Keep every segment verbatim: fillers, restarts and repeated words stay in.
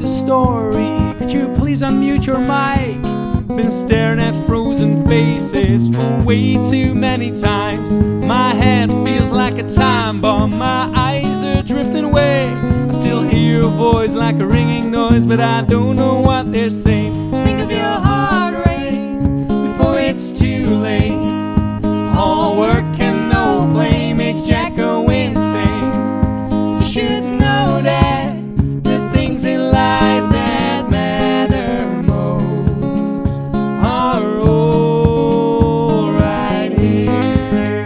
a story. Could you please unmute your mic? Been staring at frozen faces for way too many times. My head feels like a time bomb, my eyes are drifting away. I still hear your voice like a ringing noise, but I don't know what they're saying. Think of your heart rate before it's too late. All work and no play makes Jack go insane. You should know that the things in life that matter most are all right here.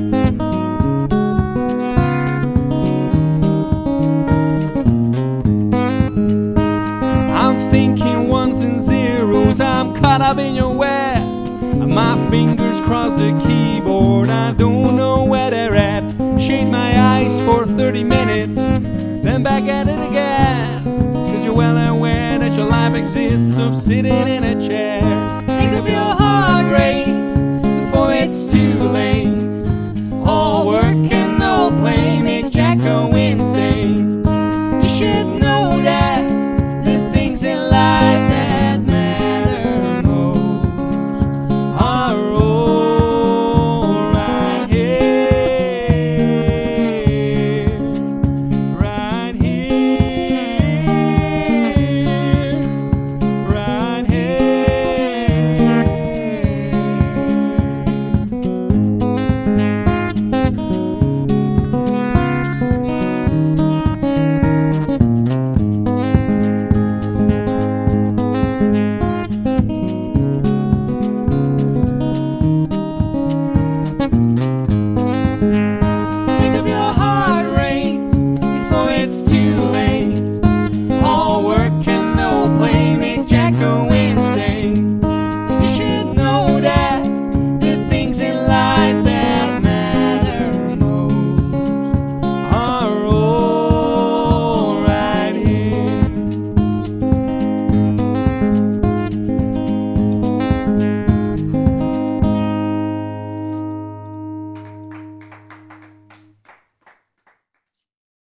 I'm thinking ones and zeros, I'm caught up in your web. My fingers cross the keyboard, I don't know where they're at. Shade my eyes for thirty minutes, then back at it again. Cause you're well aware that your life exists of sitting in a chair. Think of your heart rate before it's too